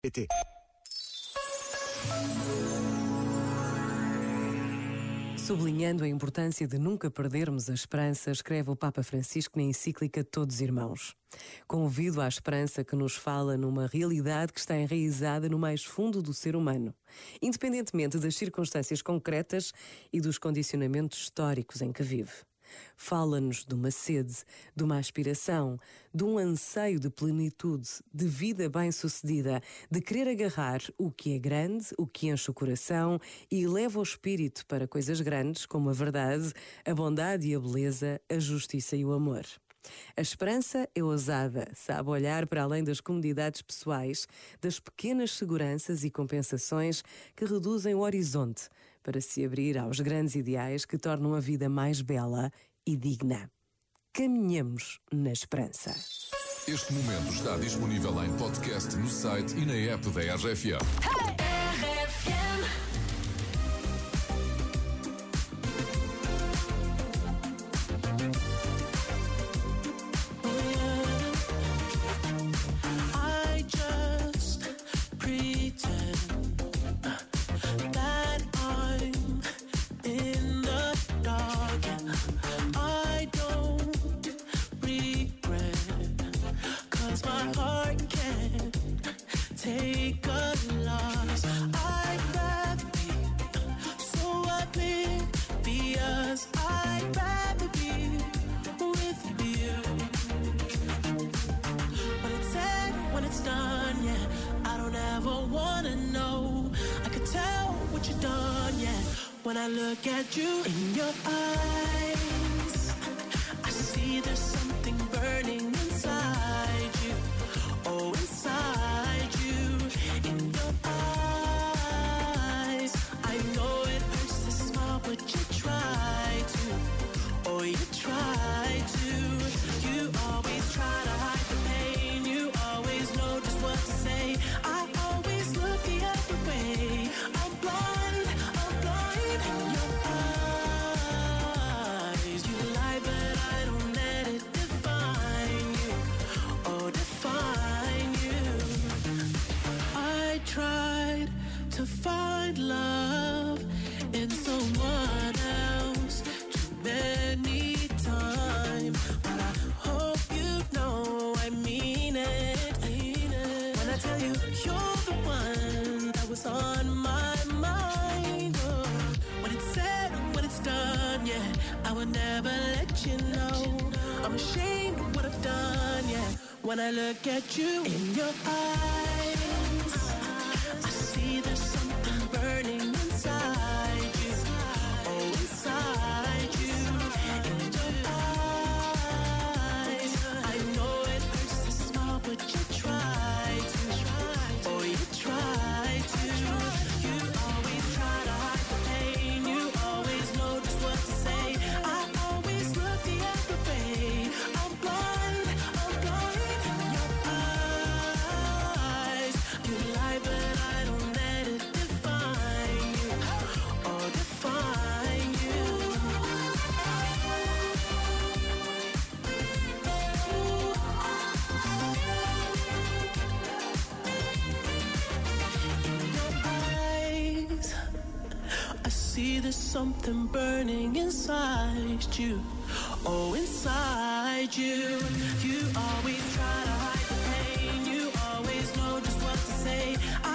PT. Sublinhando a importância de nunca perdermos a esperança, escreve o Papa Francisco na encíclica Todos Irmãos. Convido à esperança que nos fala numa realidade que está enraizada no mais fundo do ser humano, independentemente das circunstâncias concretas e dos condicionamentos históricos em que vive. Fala-nos de uma sede, de uma aspiração, de um anseio de plenitude, de vida bem-sucedida, de querer agarrar o que é grande, o que enche o coração e leva o espírito para coisas grandes como a verdade, a bondade e a beleza, a justiça e o amor. A esperança é ousada, sabe olhar para além das comodidades pessoais, das pequenas seguranças e compensações que reduzem o horizonte para se abrir aos grandes ideais que tornam a vida mais bela e digna. Caminhamos na esperança. Este momento está disponível em podcast no site e na app da RFM. Take a loss. I'd rather be so oblivious. I'd rather be with you. When it's said, when it's done, yeah, I don't ever wanna know. I could tell what you've done, yeah. When I look at you in your eyes, I see there's something burning inside you. Oh, inside you, in your eyes. I know it hurts to smile, but you try to. Oh, you try to. You always try to hide the pain. You always know just what to say. I always look the other way. I'm blind in your eyes. You lie, but I don't let it define you. Oh, define you. I tried to find love in someone else too many times, but I hope you know I mean it. When I tell you you're the one that was on my mind. Oh, when it's said, when it's done, yeah, I would never let you know. I'm ashamed of what I've done, yeah. When I look at you in your eyes, I see there's something burning inside you. Oh, inside you. In your eyes, I know it hurts to smile, but you try to. Oh, you try to. You always try to hide the pain. You always know just what to say. I always look the other way. I'm blind in your eyes. You lie, but I don't let it define you. Oh, define you. In your eyes, I see there's something burning inside you. Oh, inside you. You always try to hide the pain. You always know just what to say.